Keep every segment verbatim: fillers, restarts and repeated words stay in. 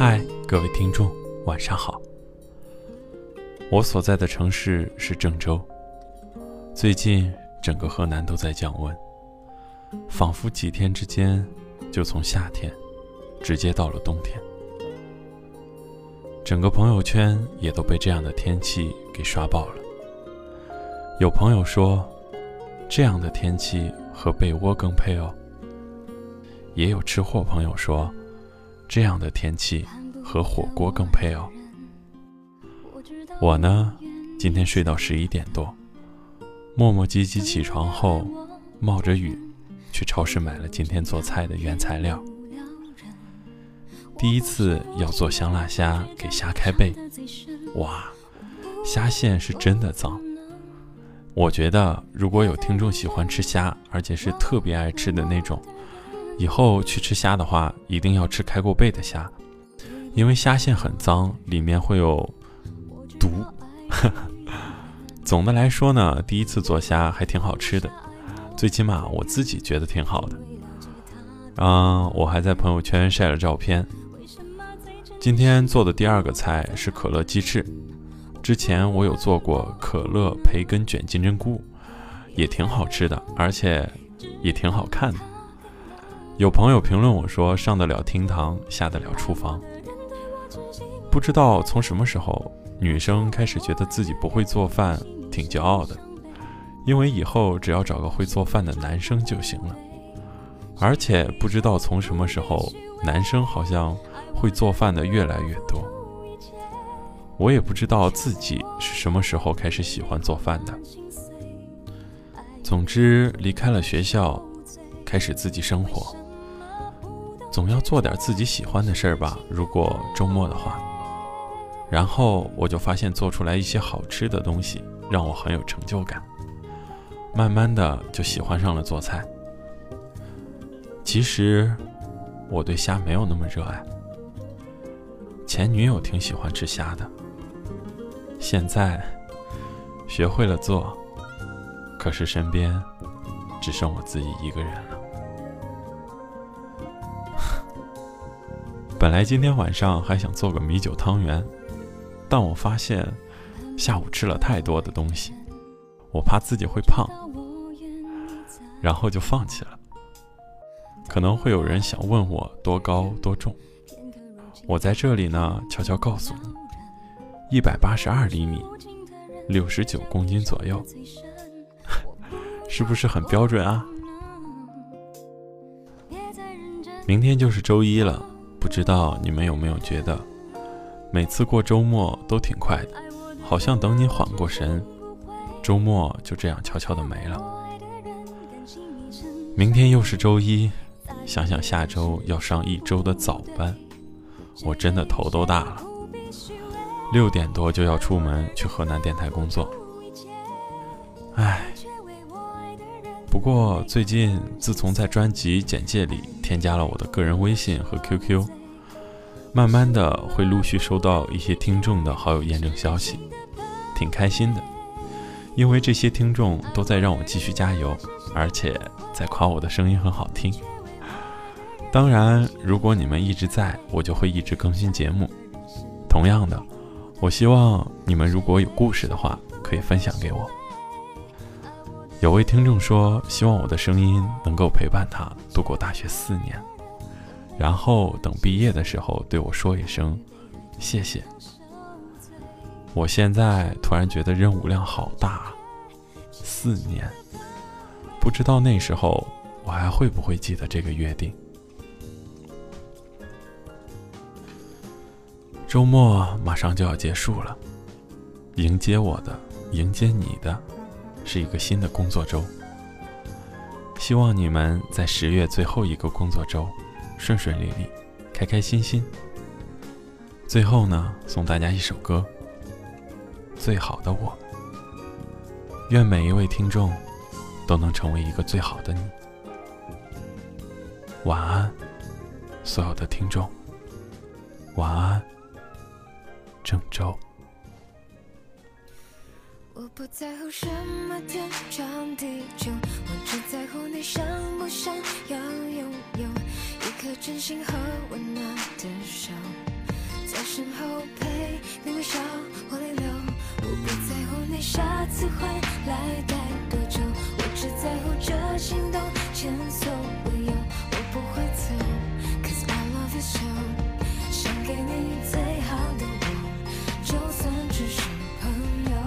嗨，各位听众，晚上好。我所在的城市是郑州，最近整个河南都在降温，仿佛几天之间就从夏天直接到了冬天。整个朋友圈也都被这样的天气给刷爆了。有朋友说，这样的天气和被窝更配哦。也有吃货朋友说，这样的天气和火锅更配哦。我呢，今天睡到十一点多，磨磨唧唧起床后，冒着雨去超市买了今天做菜的原材料。第一次要做香辣虾，给虾开背，哇，虾线是真的脏。我觉得如果有听众喜欢吃虾，而且是特别爱吃的那种，以后去吃虾的话，一定要吃开过背的虾，因为虾线很脏，里面会有毒。总的来说呢，第一次做虾还挺好吃的，最起码我自己觉得挺好的。嗯，我还在朋友圈晒了照片。今天做的第二个菜是可乐鸡翅，之前我有做过可乐培根卷金针菇，也挺好吃的，而且也挺好看的。有朋友评论我说，上得了厅堂，下得了厨房。不知道从什么时候，女生开始觉得自己不会做饭挺骄傲的，因为以后只要找个会做饭的男生就行了。而且不知道从什么时候，男生好像会做饭的越来越多。我也不知道自己是什么时候开始喜欢做饭的。总之，离开了学校，开始自己生活，总要做点自己喜欢的事儿吧，如果周末的话。然后我就发现做出来一些好吃的东西，让我很有成就感。慢慢的就喜欢上了做菜。其实我对虾没有那么热爱，前女友挺喜欢吃虾的，现在学会了做，可是身边只剩我自己一个人了。本来今天晚上还想做个米酒汤圆，但我发现下午吃了太多的东西，我怕自己会胖，然后就放弃了。可能会有人想问我多高多重，我在这里呢悄悄告诉你，一百八十二厘米，六十九公斤左右。是不是很标准啊？明天就是周一了，不知道你们有没有觉得每次过周末都挺快的，好像等你缓过神，周末就这样悄悄的没了。明天又是周一，想想下周要上一周的早班，我真的头都大了。六点多就要出门去河南电台工作。唉，不过最近自从在专辑简介里添加了我的个人微信和 Q Q， 慢慢的会陆续收到一些听众的好友验证消息，挺开心的，因为这些听众都在让我继续加油，而且在夸我的声音很好听。当然，如果你们一直在，我就会一直更新节目。同样的，我希望你们如果有故事的话，可以分享给我。有位听众说，希望我的声音能够陪伴他度过大学四年，然后等毕业的时候对我说一声谢谢。我现在突然觉得任务量好大，四年，不知道那时候我还会不会记得这个约定。周末马上就要结束了，迎接我的，迎接你的，是一个新的工作周。希望你们在十月最后一个工作周顺顺利利，开开心心。最后呢，送大家一首歌，最好的我。愿每一位听众都能成为一个最好的你。晚安，所有的听众，晚安，郑州。 我不在乎什么天长地久，我只在乎你想不想要拥有一颗真心和温暖的手。 在身后陪你微笑或泪流，我不在乎你下次会来待多久，我只在乎这心动前所未有，我不会走 ，Cause I love you so， 想给你最好的我，就算只是朋友。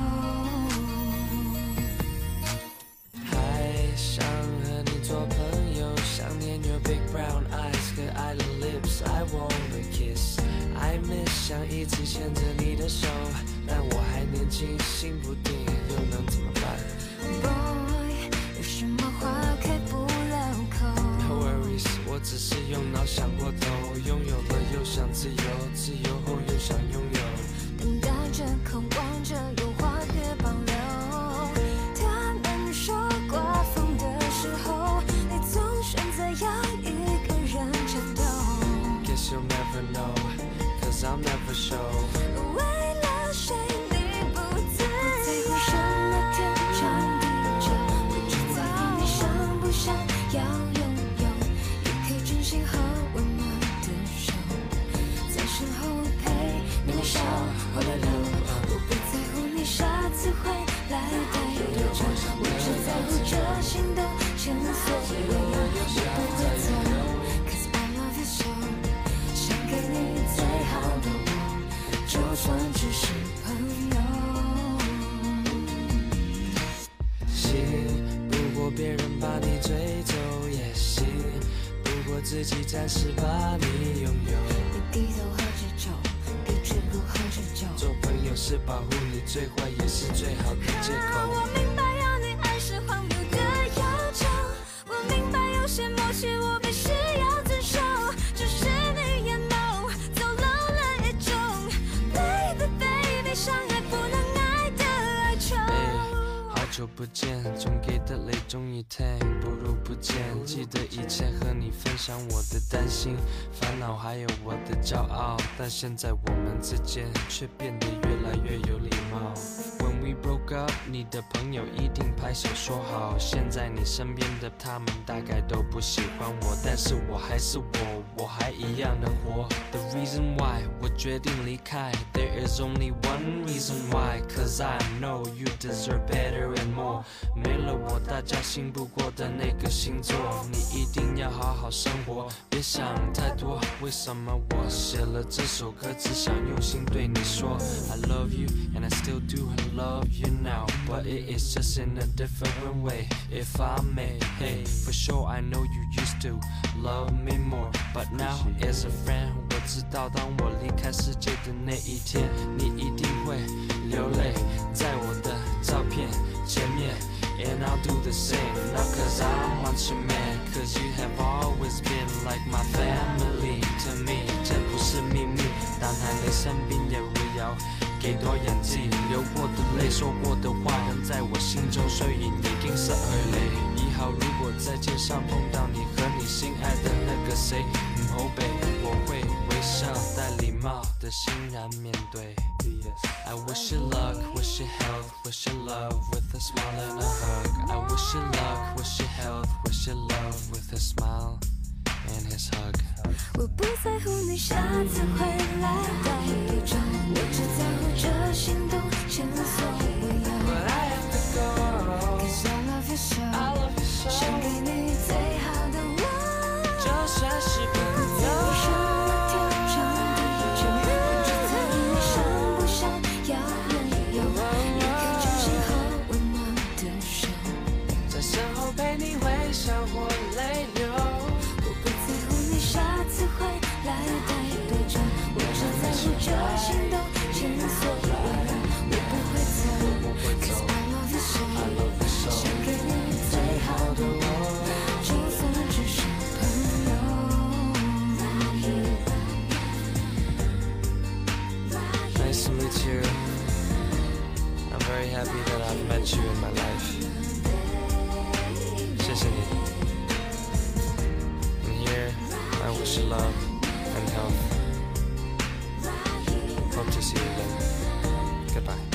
还想和你做朋友，想念 your big brown eyes 和爱的 lips，I wanna kiss。I miss 想一直牵着你的手，但我还年轻，心不定，又能怎么办 Boy， 有什么话开不了口 ？No worries， 我只是用脑想过头，拥有了又想自由，自由后又想拥有， 等待着，渴望着，有话别保留。他们说刮风的时候，你总选择要一个人战斗。 Guess you'll never know，cause I'll never show。 为了谁你不在乎什么天长地久，我只在乎你想不想要拥有一颗真心和温暖的手，在身后陪你微笑或泪流，我不在乎你下次会来待多久，我只在乎这心动前所未有，我不会走 Cause I love you so， 想给你最好的我，就算只是朋友。 行，不过别人把你追走也行，不过自己暂时把你拥有。 你低头喝着酒，一直不喝着酒。 做朋友是保护你，最坏也是最好的借口。 我明白要你爱是荒谬的要求，我明白有些默契我必须要遵守，只是你也 know， 走漏了一种 Baby baby， 相爱不能爱的哀愁。 好久不见，总给的泪终于停，不如不见。记得以前和你分享我的担心、烦恼，还有我的骄傲，但现在我们之间却变得越来越有礼貌。When we broke up， 你的朋友一定拍手说好，现在你身边的他们大概都不喜欢我，但是我还是我，我还一样的活。The reason why 我决定离开 ，There is only one reason why，Cause I know you deserve better and more。没了我，大家信不过的那个星座，你一定要好好生活，别想太多。为什么我写了这首歌，只想用心对你说 I love you and I still do love you now, but it is just in a different way. If I may, hey, for sure I know you used to love me more, but now as a friend， 我知道当我离开世界的那一天，你一定会流泪在我的照片前面。And I'll do the same, not cause I want you man, cause you have always been like my family to me。 这不是秘密，当还没生病也围绕给多演技，流过的泪，说过的话，仍在我心中，所以一定是耳泪。以后如果在街上碰到你和你心爱的那个谁，唔好避，我会微笑带礼貌的欣然面对。I wish you luck, wish you health, wish you love with a smile and a hug. I wish you luck, wish you health, wish you love with a smile and his hug. 我不在乎你下次会来待多久，我只在乎这心动前所未有。 But I have to go, Cause I love you so， I love you so。 想给你最好的我， 就算是朋友。 在乎什么天长地久，我只在乎你想不想要拥有一颗真心和温暖的手， 在身后陪你微笑或泪流。 我不在乎你下次会来待多久，我只在乎这心动前所未有，我不会走 Cause I love you so， 想给你最好的我，就算只是朋友。 Nice to meet you. I'm very happy that I've met you in my life. 谢谢你。And here, I wish you love and health. Hope to see you again. Goodbye.